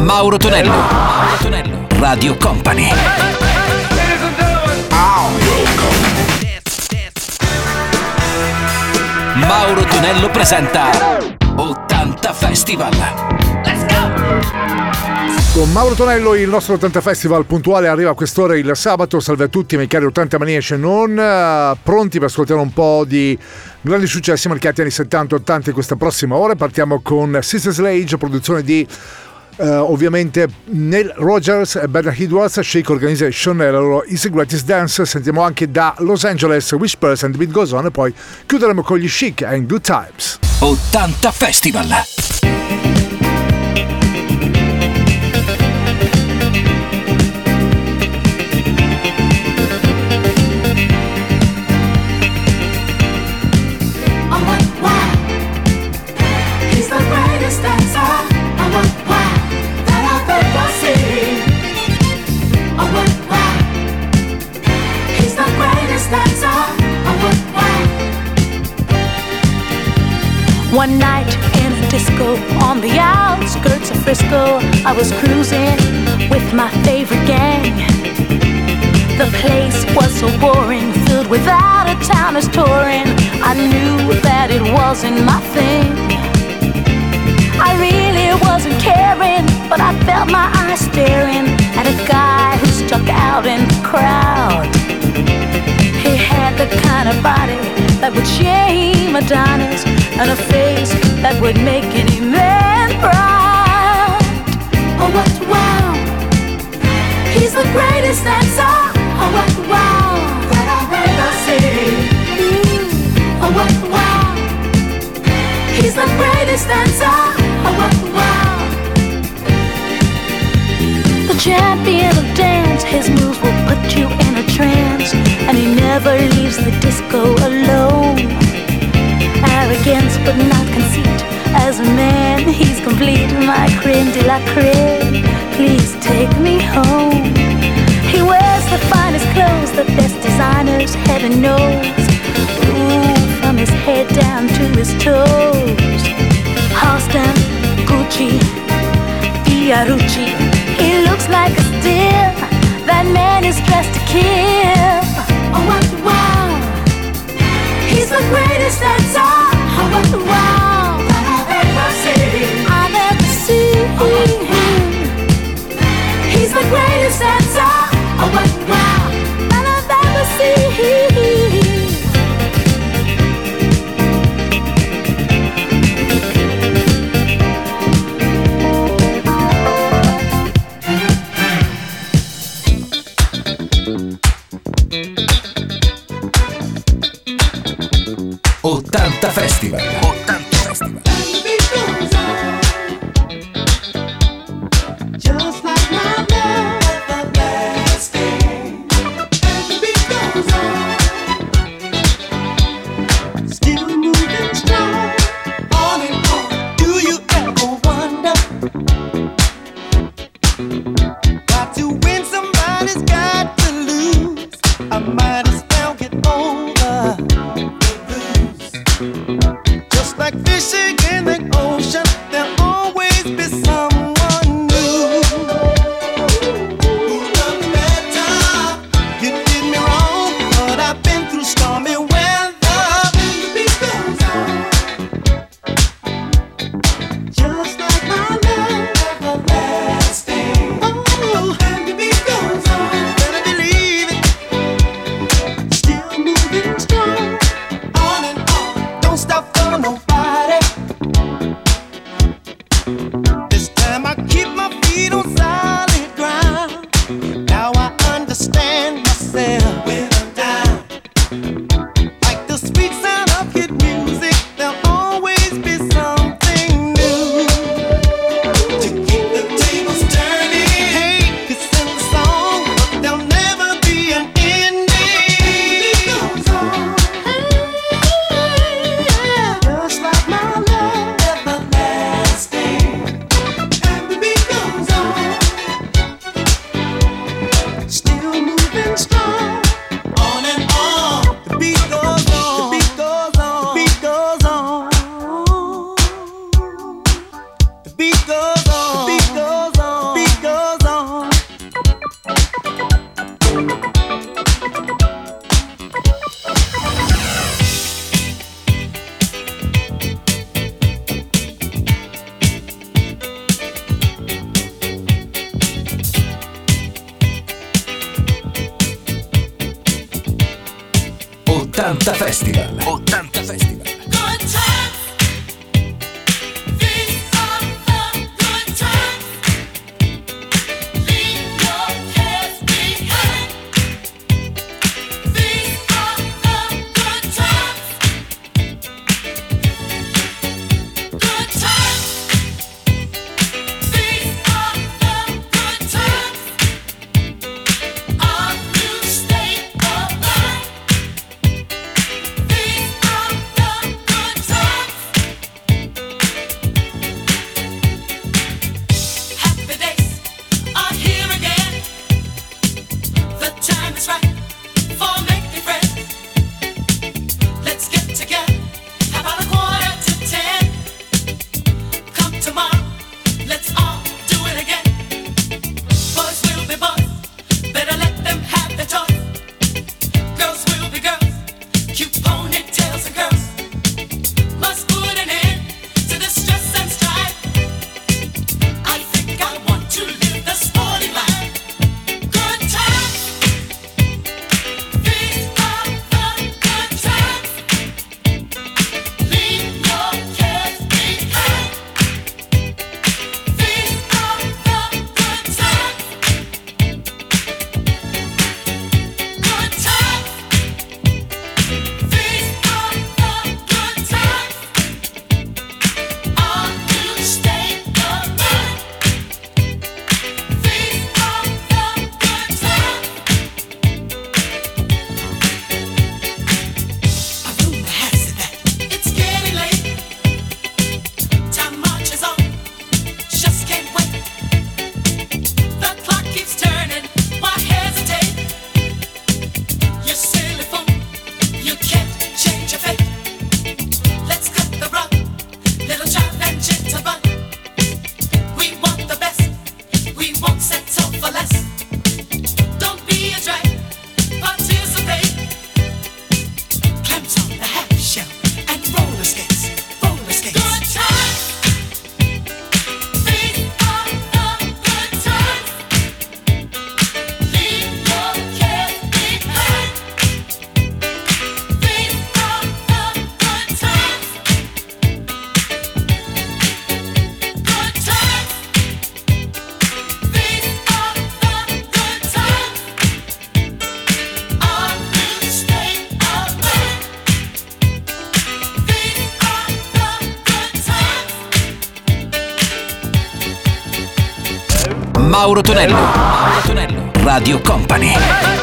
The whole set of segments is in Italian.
Mauro Tonello. Mauro Tonello. Radio Company. Mauro Tonello presenta 80 Festival. Let's go! Con Mauro Tonello il nostro 80 Festival puntuale arriva a quest'ora il sabato. Salve a tutti, miei cari 80 maniaci non, pronti per ascoltare un po' di grandi successi marcati anni 70-80 in questa prossima ora. Partiamo con Sister Sledge, produzione di ovviamente Neil Rogers e Bernard Edwards, Shake Organization e la loro Easy Greatest Dance. Sentiamo anche da Los Angeles Whispers and the Beat Goes On, e poi chiuderemo con gli Chic and Good Times. 80 Festival. One night in a disco on the outskirts of Frisco, I was cruising with my favorite gang. The place was so boring, filled with out-of-towners touring. I knew that it wasn't my thing. I really wasn't caring, but I felt my eyes staring at a guy who stuck out in the crowd. He had the kind of body that would shame Adonis, and a face that would make any man proud. Oh, what wow! He's the greatest dancer. Oh, what wow! That I've ever seen. Oh, what wow! He's the greatest dancer. Oh, what wow! The champion of dance, his moves will put you in a trance, and he never leaves the disco alone. Arrogance but not conceit, as a man he's complete. My creme de la creme, please take me home. He wears the finest clothes, the best designers, heaven knows. Ooh, from his head down to his toes. Halston, Gucci, Fiorucci, he looks like a steal. That man is dressed to kill. Oh, what wow! He's the greatest dancer. Oh, what wow! That I've ever seen. I've ever seen. He's the greatest dancer. Oh, what wow! That I've ever seen. Festival. 80 Festival. Just like my love. 80 Festival. 80 Festival. Mauro Tonello. Mauro Tonello. Radio Company.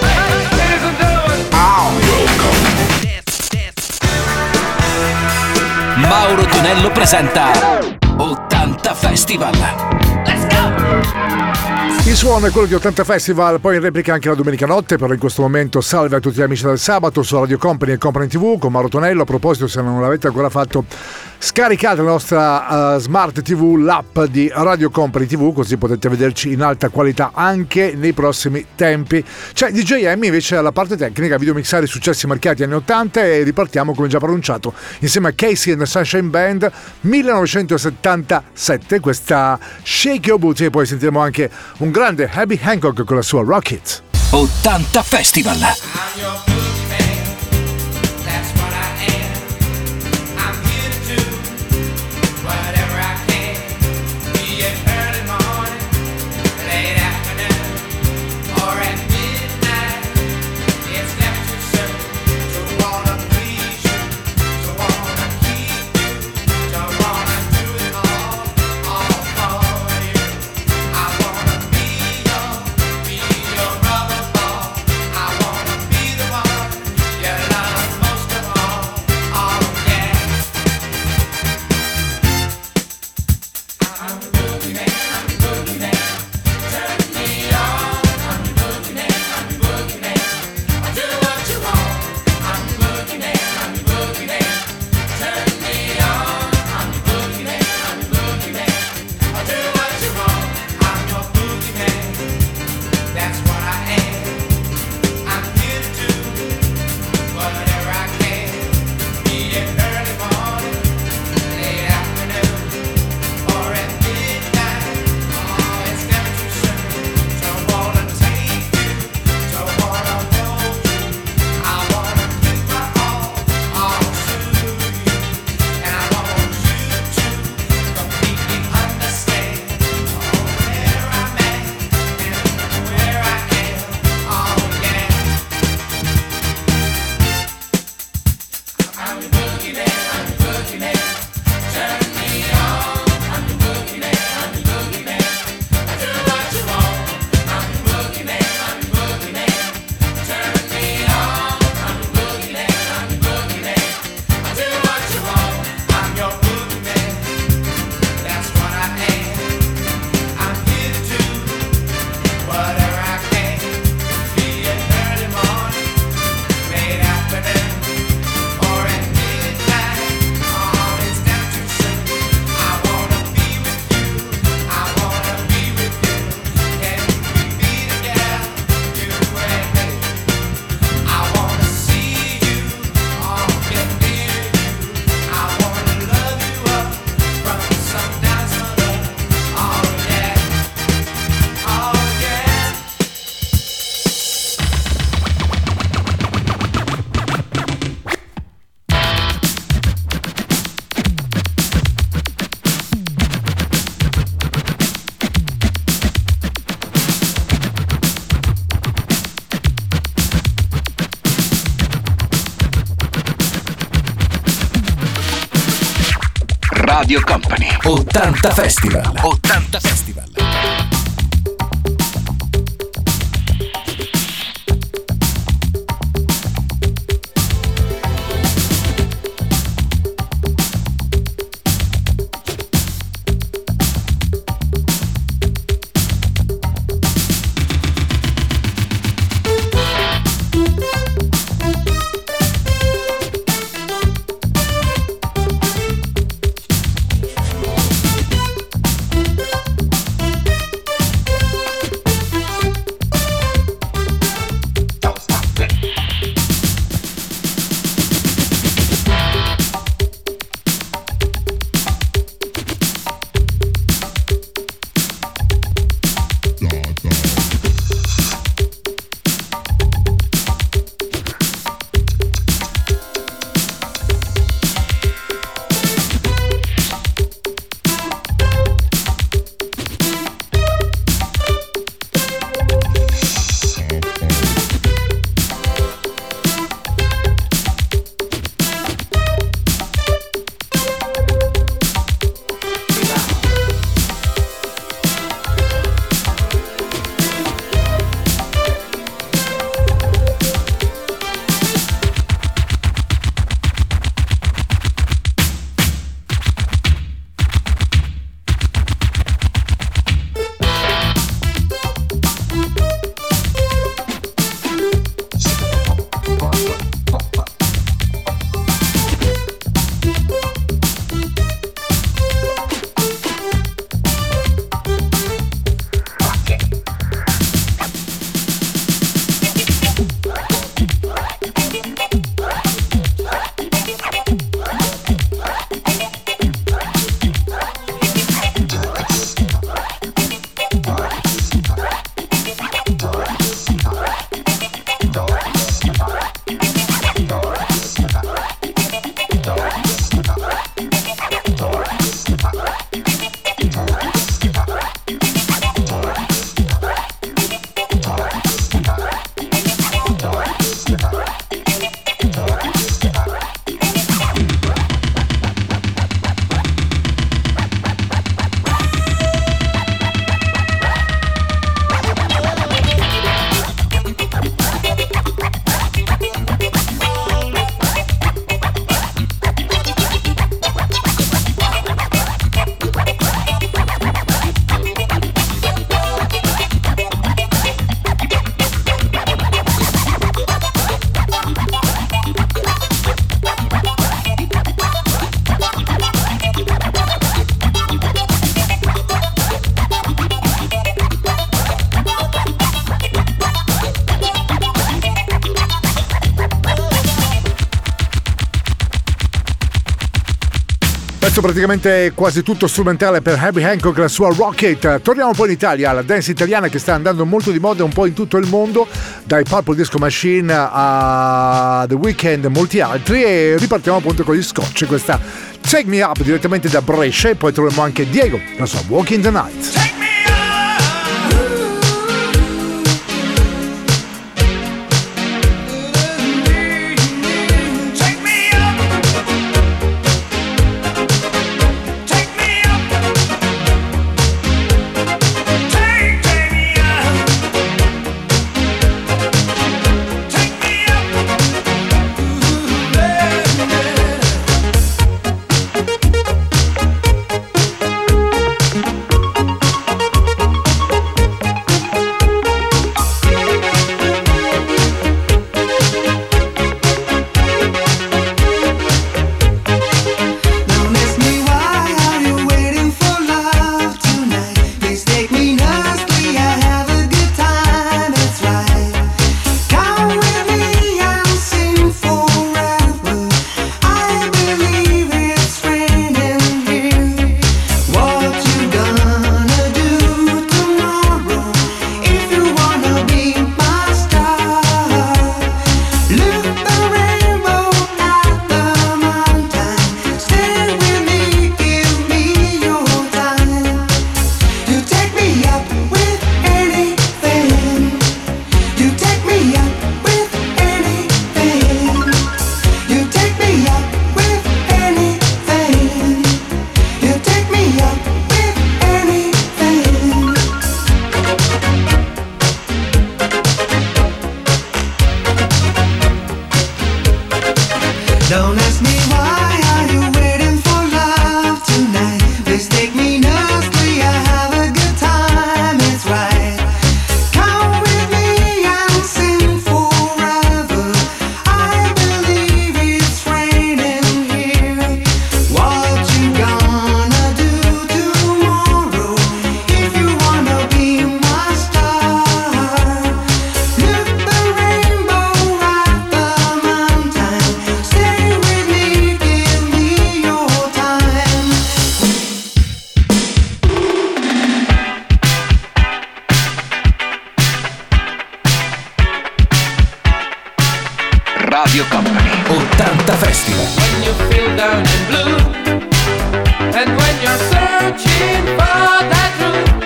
Mauro Tonello presenta 80 Festival. Let's go! Il suono è quello di 80 Festival, poi in replica anche la domenica notte, però in questo momento salve a tutti gli amici del sabato su Radio Company e Company TV con Mauro Tonello. A proposito, se non l'avete ancora fatto, scaricate la nostra Smart TV, l'app di Radio Company TV, così potete vederci in alta qualità anche nei prossimi tempi. C'è DJ Emmy invece alla parte tecnica, videomixare i successi marchiati anni 80 e ripartiamo come già pronunciato insieme a Casey and the Sunshine Band 1977, questa Shake Your Booty, e poi sentiremo anche un grande Herbie Hancock con la sua Rocket. 80 Festival. Be the one Radio Company. 80 Festival. 80 Festival. Praticamente quasi tutto strumentale per Herbie Hancock e la sua Rocket. Torniamo poi in Italia, alla dance italiana che sta andando molto di moda un po' in tutto il mondo, dai Purple Disco Machine a The Weeknd e molti altri, e ripartiamo appunto con gli Scotch, questa Take Me Up direttamente da Brescia, e poi troviamo anche Diego, la sua Walking the Night. Radio Company 80 Festival. When you feel down and blue, and when you're searching for that truth,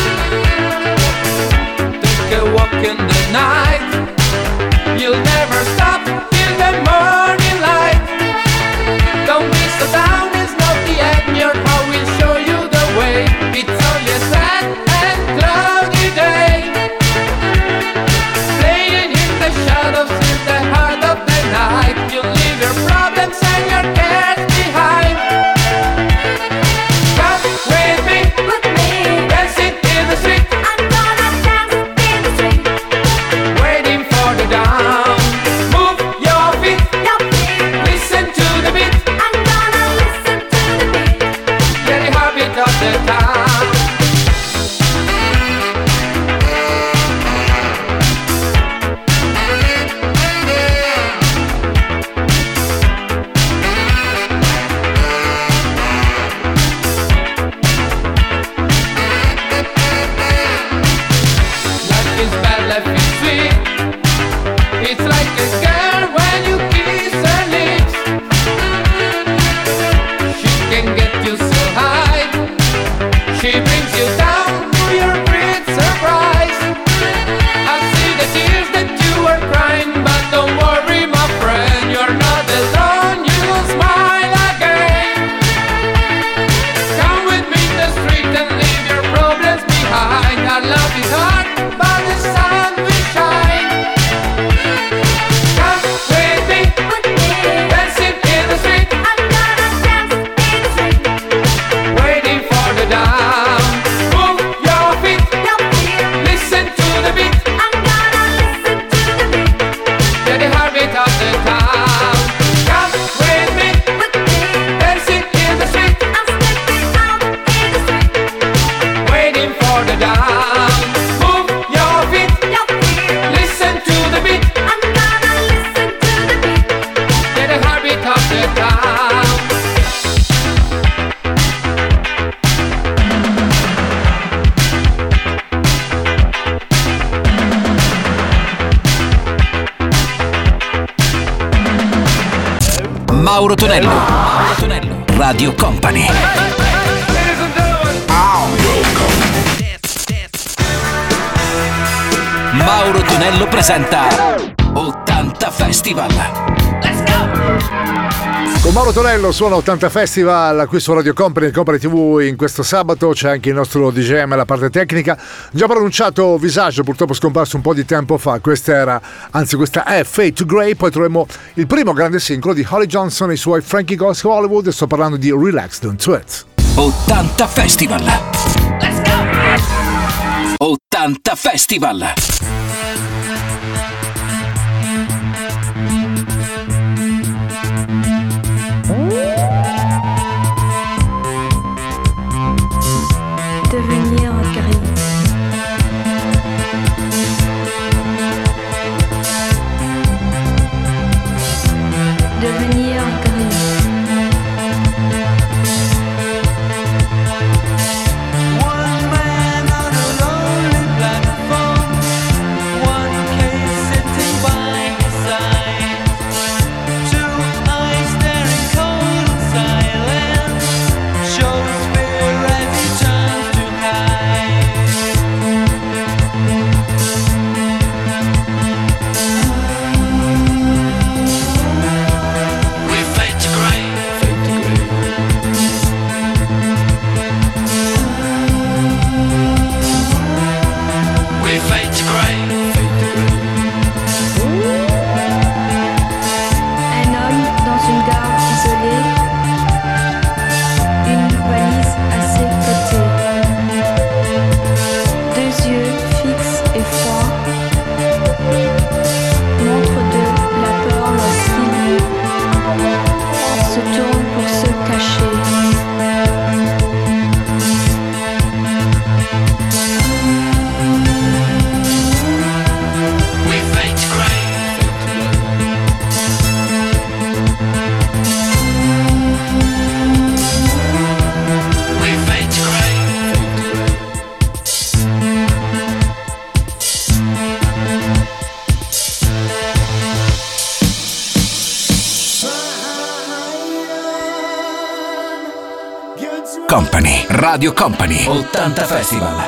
take a walk in the night. You'll never stop till the morning light. Don't be so down, it's not the end. Your heart will show you the way. It's only a sad and cloudy day, playing in the shadows in the heart of the night. You'll leave your problems and your cares behind. Come with me, dancing in the street. I'm gonna dance in the street. Waiting for the dawn. Move your feet, listen to the beat. I'm gonna listen to the beat. Get the habit of the town. Life is bad, life is sweet. It's like a girl when you kiss her lips. She can get you so high. She brings you down to your great surprise. I see the tears that you are crying, but don't worry, my friend, you're not alone. You'll smile again. Come with me in the street and leave your problems behind. Our love is hard, but the sun will shine. Come with me, dancing in the street. I'm gonna dance in the street. Waiting for the dawn. Move your feet, listen to the beat. I'm gonna listen to the beat. Get the heartbeat of the town. Come with me, dancing in the street. I'm stepping out in the street. Waiting for the dawn. Move your feet, listen to the beat. I'm gonna listen to the beat. Get the heartbeat of the town. Mauro Tonello. Mauro Tonello. Radio Company. Mauro Tonello presenta 80 Festival. Con Mauro Tonello suona 80 Festival qui su Radio Company e Company TV. In questo sabato c'è anche il nostro DJM alla parte tecnica. Già pronunciato Visage, purtroppo scomparso un po' di tempo fa. Questa è Fade to Grey. Poi troviamo il primo grande singolo di Holly Johnson e i suoi Frankie Goes to Hollywood. E sto parlando di Relax, Don't Sweat. 80 Festival. 80 Festival. Devenir gris. Devenir gris. One man on a lonely platform, one Company. Radio Company 80 Festival.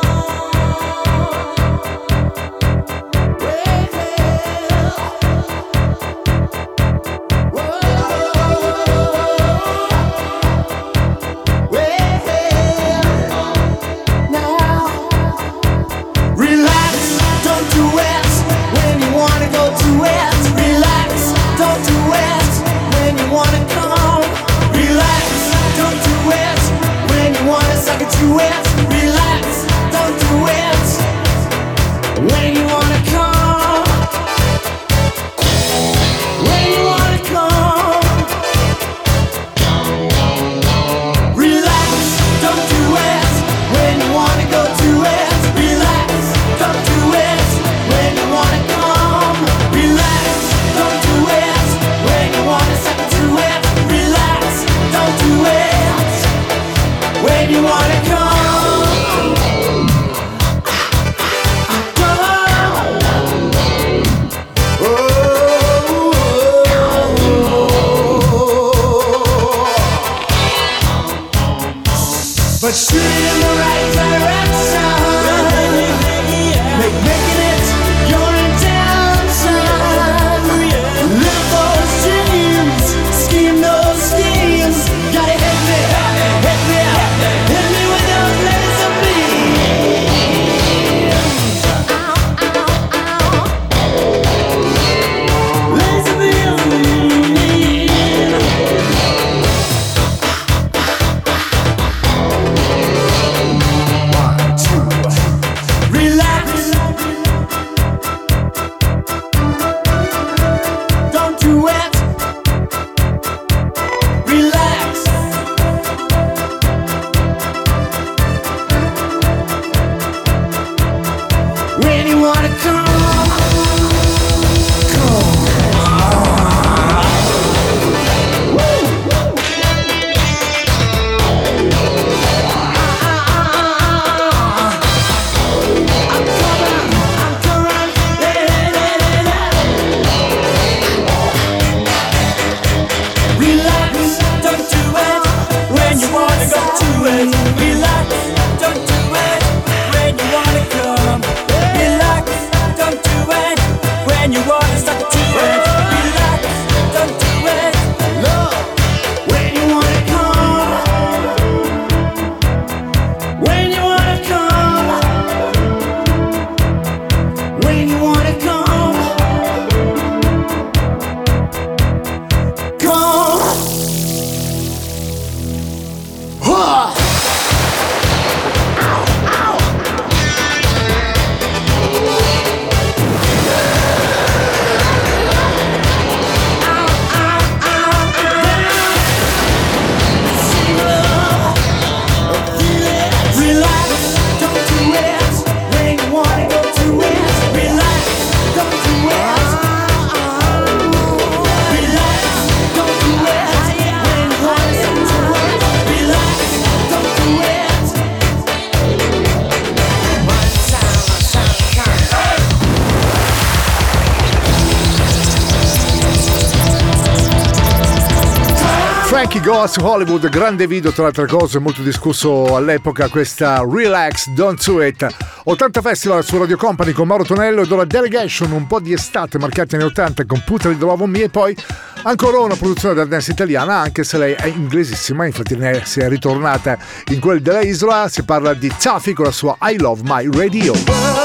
Frankie Goes to Hollywood, grande video tra le altre cose, molto discusso all'epoca, questa Relax, Don't Do It. 80 Festival su Radio Company con Mauro Tonello ed ora Delegation, un po' di estate marcati anni 80 con Put It Love on Me e poi ancora una produzione del dance italiana, anche se lei è inglesissima, infatti ne si è ritornata in quel della isola. Si parla di Taffy con la sua I Love My Radio.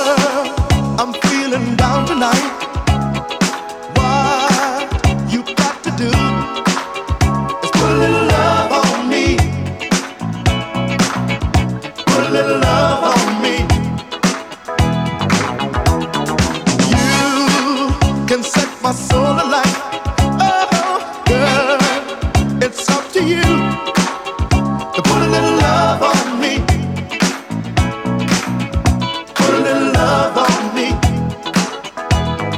I'm feeling down tonight. What you got to do is put a little love on me. Put a little love on me. You can set my soul alight. Oh, girl, it's up to you to put a little love on me. Put a little love on me.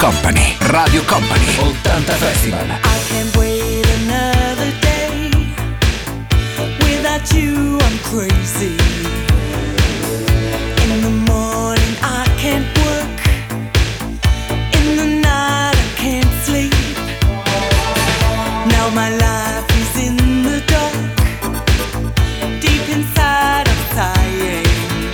Company. Radio Company 80 Festival. I can't wait another day. Without you I'm crazy. In the morning I can't work. In the night I can't sleep. Now my life is in the dark. Deep inside I'm sighing.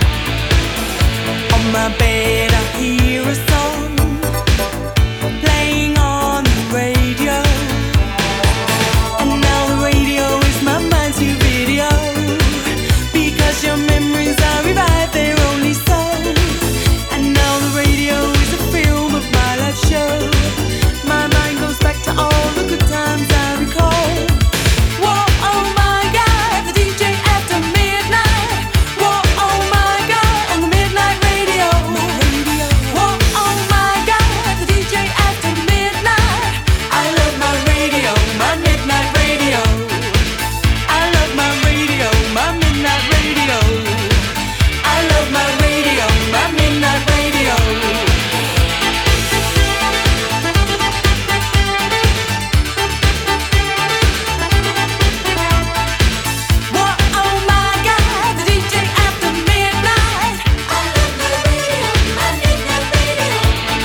On my bed I hear a song playing on the radio. And now the radio is my mind's new video. Because your memories are revived, they're only song. And now the radio is a film of my life show. My mind goes back to all the good times I recall. Whoa, oh my God, the DJ after midnight. Whoa, oh my God, on the midnight radio. Whoa, oh my God, the DJ after midnight. I love my radio, my midnight radio. I love my radio, my midnight radio. I love my radio, my midnight radio. Whoa, oh my God, the DJ after midnight. I love my radio, my midnight radio.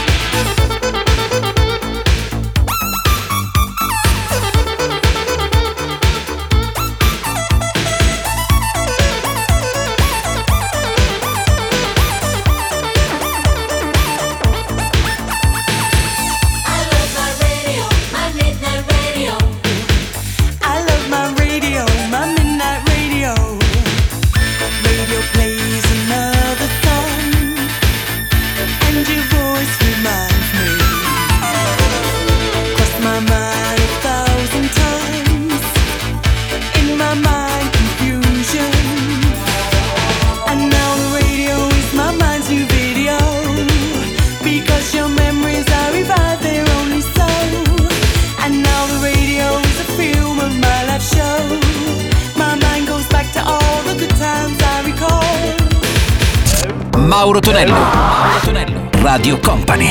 I love my radio, my midnight radio. I love my radio, my midnight radio. Radio plays another song, and your voice reminds me. Crossed my mind 1,000 times, in my mind confusion. And now the radio is my mind's new video. Because your memories are revived, they're only so. And now the radio is a film of my life show. My mind goes back to all the good times I recall. Mauro Tonello. Mauro Tonello. Radio Company.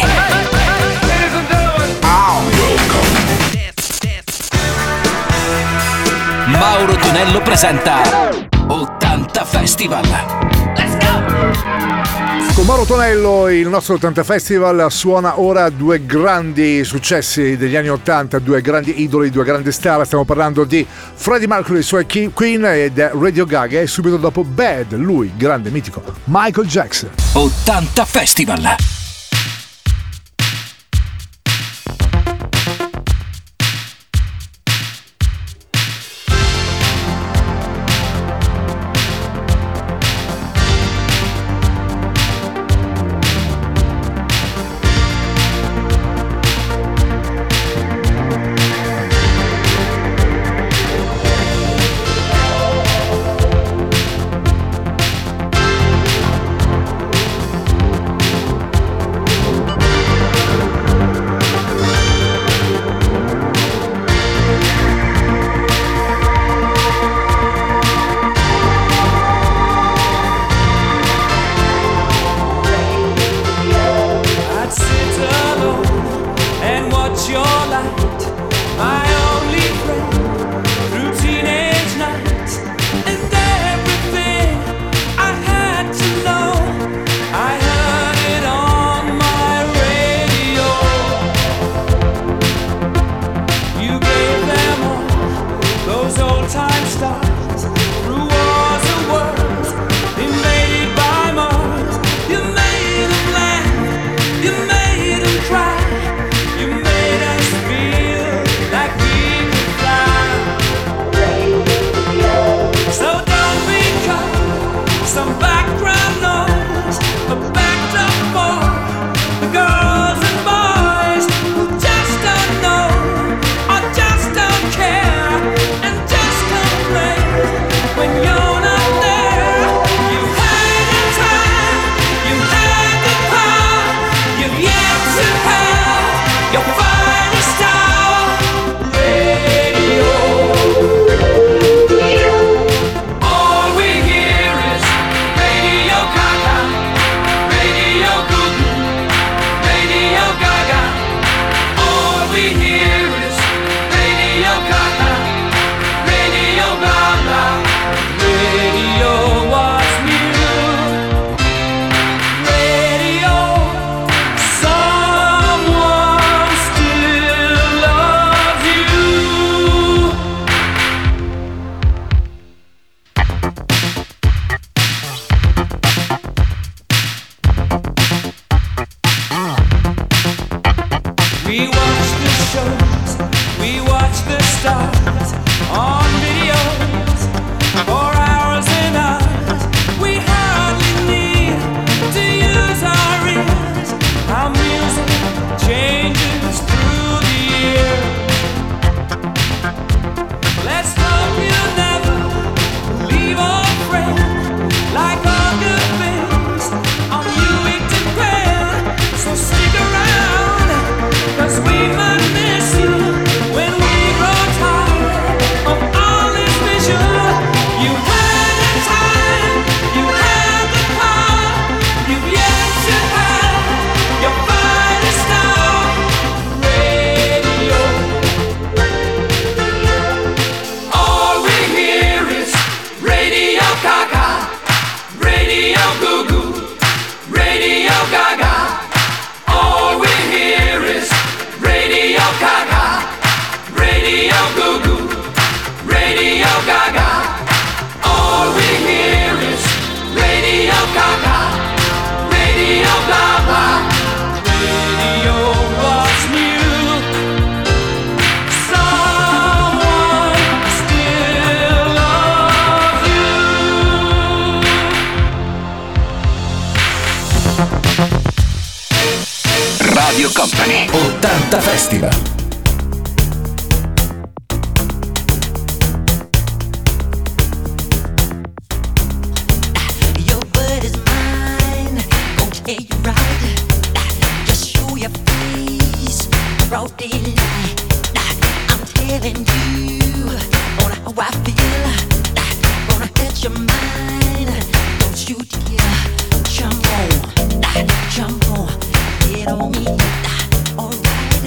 Mauro Tonello presenta 80 Festival. Let's go! Con Mauro Tonello il nostro 80 Festival suona ora due grandi successi degli anni 80, due grandi idoli, due grandi star. Stiamo parlando di Freddie Mercury e i suoi Queen e Radio Gaga, e subito dopo Bad, lui, grande mitico, Michael Jackson. 80 Festival. stars on videos for hours and hours. We hardly need to use our ears. Our music changes through the year. Let's hope you'll never leave a friend. Like all good things, on you we depend. So stick around, 'cause we might miss you when we grow tired of all this vision. You had the time, you had the power, you've yet to have your finest star. Radio, all we hear is Radio Gaga, Radio Goo Goo, Radio Gaga. All we hear is Radio Gaga, Radio Goo Goo, Radio Gaga. All we hear is Radio Gaga, Radio blah blah. Radio was new. Someone still loves you. Radio Company 80 Festival. Your word is mine, gon' tell you right. Just show your face, broad daylight. I'm telling you on how I feel. Gonna hit your mind, don't you dare jump on, get on me. Alright,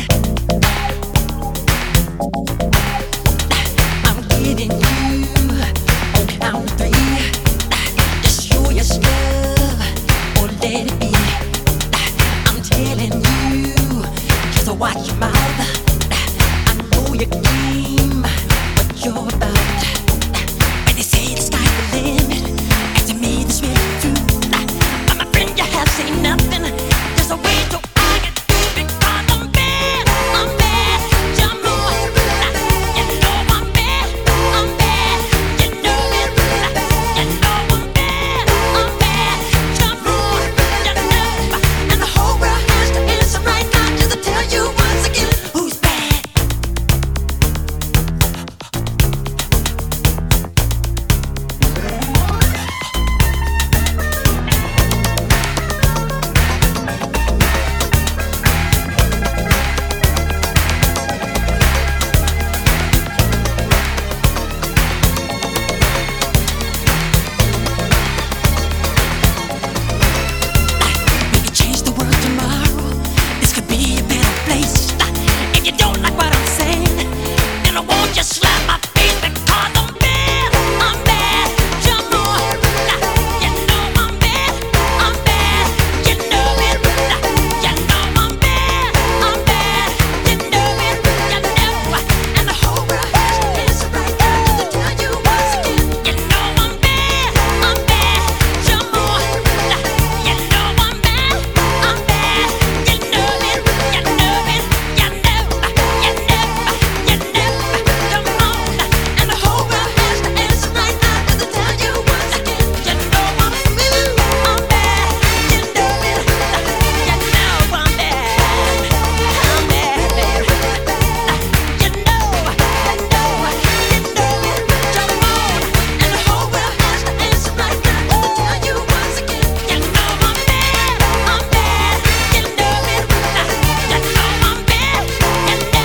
I'm getting you on count of 3. Just show your stuff or let it be. I'm telling you, just watch your mouth. I know your game, what you're about. When they say the sky's the limit, and to me this really true. But my friend, you have seen nothing. There's a way to argue because I'm bad. Jump on, you know I'm bad. You know it. You know I'm bad. Jump on, you know. And the whole world has to answer right now just to tell you once again who's bad. We could change the world tomorrow. This could be a better place. If you don't like what I'm saying, then I won't just slap my face because I'm bad. Jump on, you know I'm bad. You know it. You know I'm bad. You know it. You know. And the whole world has to answer right now just to tell you once again. You know I'm bad. Jump on, you know I'm bad. You know it. You know it. You know. You know. Come on. And the whole world has to answer right now just to tell you once again. You know I'm bad. You know it. You know I'm bad. Baby. You know. You know it. Jump on. And the whole world has to answer right now just to tell you once again. You know I'm bad. You know it. You know I'm bad. You know. You know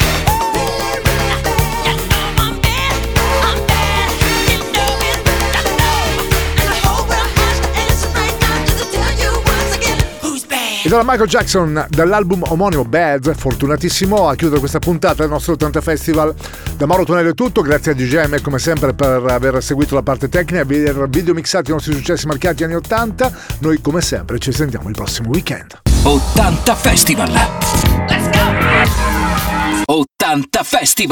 I'm bad. You know it. You know. And the whole world has to answer right now just to tell you once again who's bad. E dalla Michael Jackson, dall'album omonimo Bad, fortunatissimo a chiudere questa puntata del nostro 80 Festival. Da Mauro Tonello è tutto, grazie a DJM come sempre per aver seguito la parte tecnica, aver videomixato i nostri successi marcati anni 80. Noi come sempre ci sentiamo il prossimo weekend. 80 Festival. Let's go! 80 Festival.